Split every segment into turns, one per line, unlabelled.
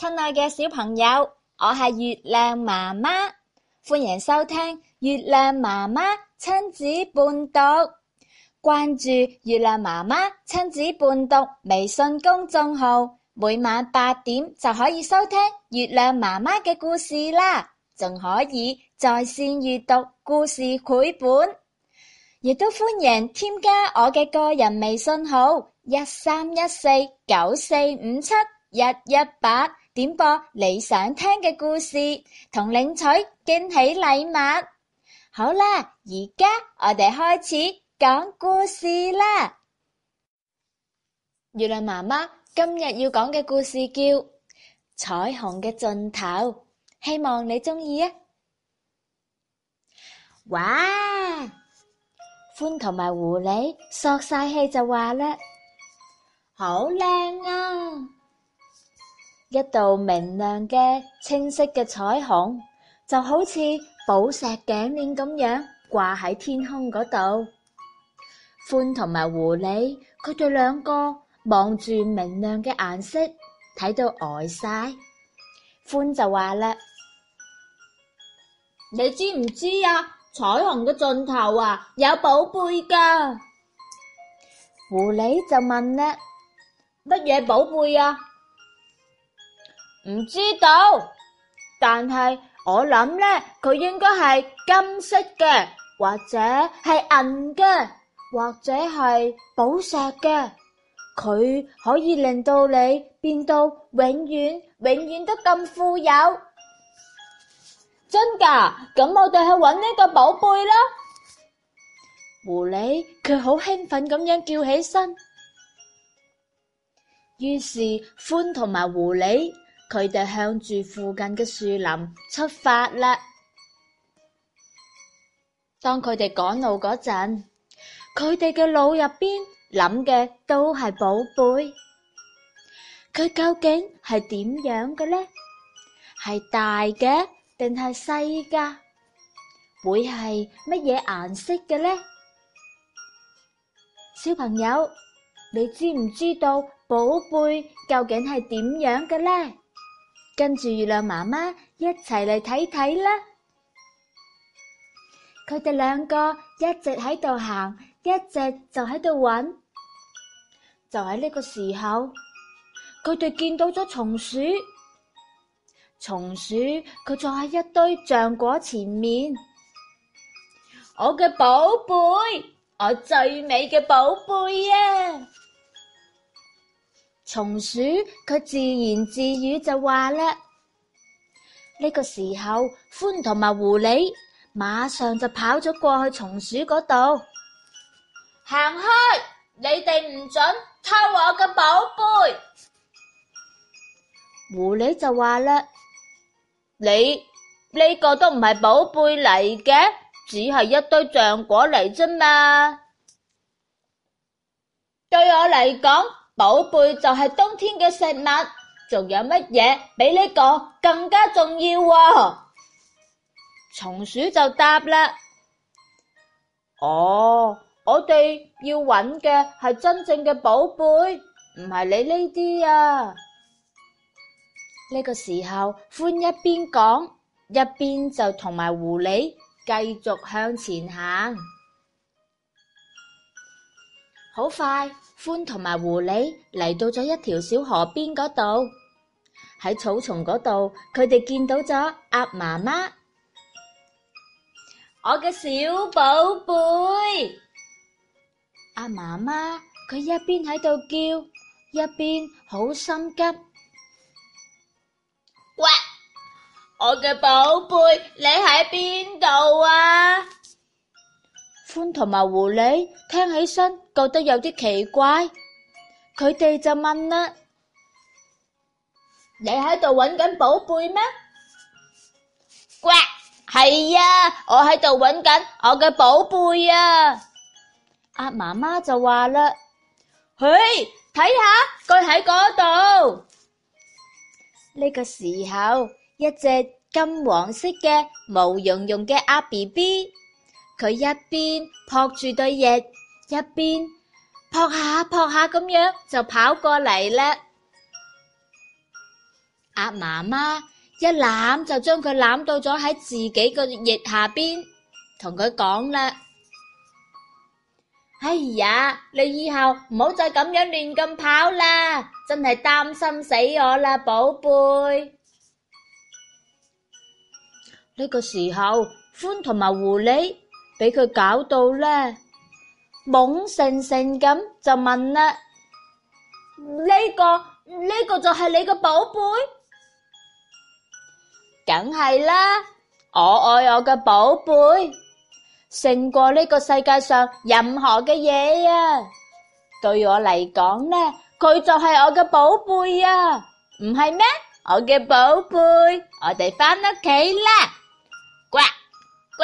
親愛嘅小朋友，我係月亮媽媽，歡迎收聽月亮媽媽親子伴讀。關注月亮媽媽親子伴讀微信公眾號，每晚8點就可以收聽月亮媽媽嘅故事啦，仲可以在線閱讀故事繪本，亦都歡迎添加我嘅個人微信號131494571181，點播你想聽嘅故事，同領取驚喜禮物。好啦，而家我哋開始講故事啦。月亮媽媽今日要講嘅故事叫《彩虹嘅盡頭》，希望你鍾意啊！哇！歡同埋狐狸索晒氣就話啦，好靚啊！一道明亮嘅清晰嘅彩虹，就好似寶石頸鏈咁樣掛喺天空嗰度。歡同埋狐狸，佢哋兩個望住明亮嘅顏色，睇到呆晒。歡就話啦，你知唔知啊？彩虹嘅盡頭啊，有寶貝㗎。狐狸就問啦，乜嘢寶貝啊？唔知道，但係我諗呢，佢應該係金色嘅，或者係銀嘅，或者係寶石嘅。佢可以令到你變到永遠都咁富有。真㗎？咁我哋去搵呢個寶貝啦！狐狸佢好興奮咁樣叫起身。於是歡同埋狐狸佢哋向住附近嘅樹林出發啦。當佢哋趕路嗰陣，佢哋嘅腦入邊諗嘅都係寶貝。佢究竟係點樣嘅呢？係大嘅定係細㗎？會係乜嘢顏色嘅呢？小朋友，你知唔知道寶貝究竟係點樣嘅呢？跟住月亮媽媽一齊嚟睇睇啦。佢哋兩個一直喺度行，一直就喺度揾。就喺呢個時候，佢哋見到咗松鼠。松鼠佢坐喺一堆橡果前面。我嘅寶貝，我最美嘅寶貝啊！松鼠佢自言自語就話啦。呢個時候，歡同埋狐狸馬上就跑咗過去松鼠嗰度。行開！你哋唔准偷我嘅寶貝！狐狸就話啦，你呢個都唔係寶貝嚟嘅，只係一堆橡果嚟啫嘛。對我嚟講，寶貝就係冬天嘅食物，仲有乜嘢比呢個更加重要啊？松鼠就答啦，我哋要揾嘅係真正嘅寶貝，唔係你呢啲啊。呢個時候，歡一邊講，一邊就同埋狐狸繼續向前行。好快，歡同埋狐狸嚟到咗一條小河邊嗰度。喺草叢嗰度，佢哋見到咗鴨媽媽。我嘅小寶貝！鴨媽媽佢一邊喺度叫，一邊好心急。喂，我嘅寶貝，你喺邊度啊？歡同埋狐狸聽起身覺得有啲奇怪，佢哋就問啦：你喺度揾緊寶貝咩？喂，係呀，我喺度揾緊我嘅寶貝啊！鴨媽媽就話啦：嘿，睇下佢喺嗰度。呢個時候，一隻金黃色嘅毛茸茸嘅鴨 BB， 佢一邊撲住對翼，一邊撲下撲下咁樣就跑過嚟啦。 鴨媽媽一攬就將佢攬到咗喺自己個翼下邊，同佢講啦：哎呀，你以後唔好再咁樣亂咁跑啦，真係擔心死我啦，寶貝。呢個時候，獾同埋狐狸俾佢搞到呢，懵盛盛咁就問啦：呢個就係你個寶貝？梗係啦，我愛我嘅寶貝，勝過呢個世界上任何嘅嘢啊！對我嚟講呢，佢就係我嘅寶貝啊，唔係咩？我嘅寶貝，我哋返屋企啦！呱呱，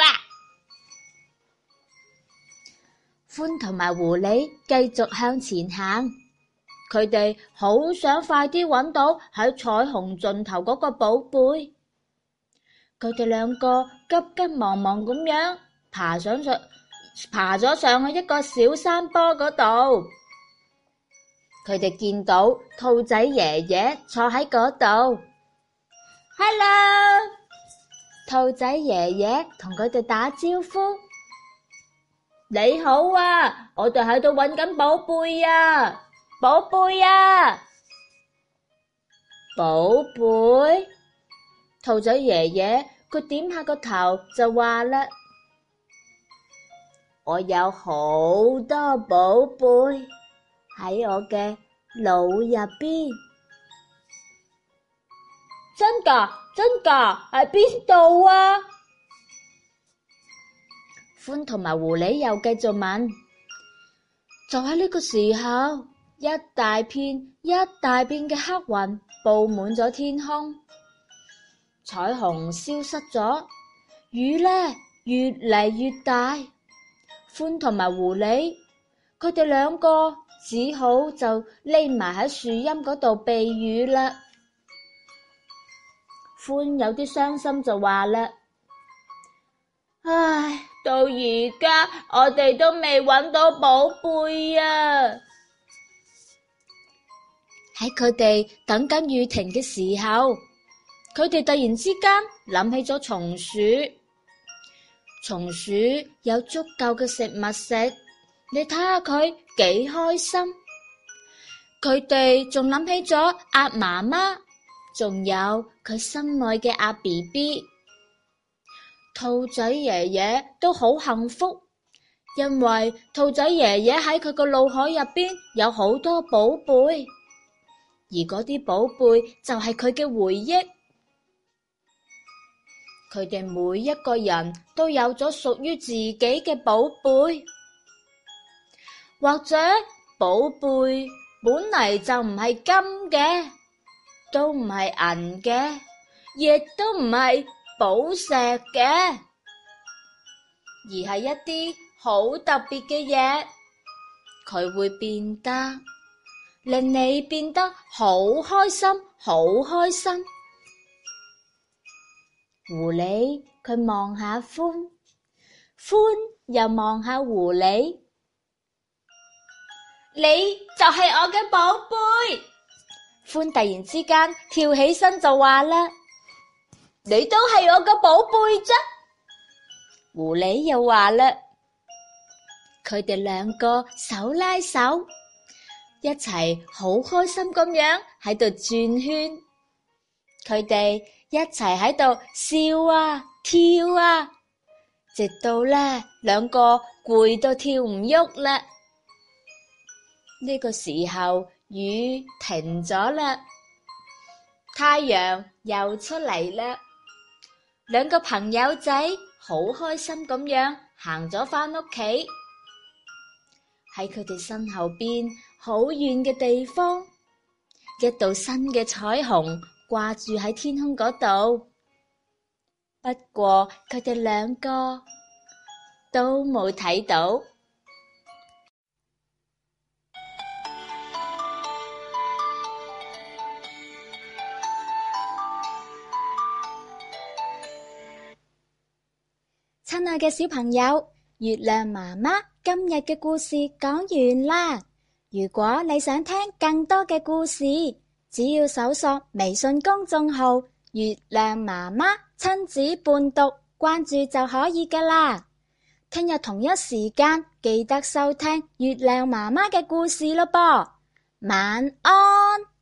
獾同埋狐狸繼續向前行，佢哋好想快啲揾到喺彩虹盡頭嗰個寶貝。佢哋兩個急急忙忙咁樣爬咗上去一個小山坡嗰度。佢哋見到兔仔爺爺坐喺嗰度。Hello， 兔仔爺爺同佢哋打招呼。你好啊，我哋喺度揾緊寶貝啊，寶貝啊，寶貝。兔仔爺爺佢點下個頭就話啦：我有好多寶貝喺我嘅腦入邊。真㗎？真㗎？喺邊度啊？獾同埋狐狸又繼續問。就喺呢個時候，一大片嘅黑雲布滿咗天空。彩虹消失咗，雨呢越嚟越大。獾同埋狐狸，佢哋兩個只好就匿埋喺樹蔭嗰度避雨啦。獾有啲傷心就話啦：唉，到而家我哋都未揾到寶貝啊！喺佢哋等緊雨停嘅時候，佢哋突然之間諗起咗松鼠。松鼠有足夠嘅食物食，你睇下佢幾開心。佢哋仲諗起咗鴨媽媽，仲有佢心愛嘅鴨 BB。兔仔爺爺都好幸福，因為兔仔爺爺喺佢個腦海入邊有好多寶貝，而嗰啲寶貝就係佢嘅回憶。佢哋每一個人都有咗屬於自己嘅寶貝，或者寶貝本嚟就唔係金嘅，都唔係銀嘅，亦都唔係寶石嘅，而係一啲好特別嘅嘢，佢會變得令你變得好開心，好開心。狐狸佢望下獾，獾又望下狐狸。你就係我嘅寶貝。獾突然之間跳起身就話啦：你都係我嘅寶貝啫。狐狸又話啦，佢哋兩個手拉手，一齊好開心咁樣喺度轉圈。佢哋一齊喺度笑啊跳啊，直到呢兩個攰到跳唔喐啦。呢個時候雨停咗啦，太陽又出嚟啦。兩個朋友仔好開心咁樣行咗返屋企。喺佢哋身後邊好遠嘅地方，一道新嘅彩虹掛住喺天空嗰度，不過佢哋兩個都冇睇到。親愛嘅小朋友，月亮媽媽今日嘅故事講完啦。如果你想聽更多嘅故事，
只要搜索微信公眾號月亮媽媽親子伴讀，關注就可以㗎喇。聽日同一時間記得收聽月亮媽媽嘅故事咯噃，晚安。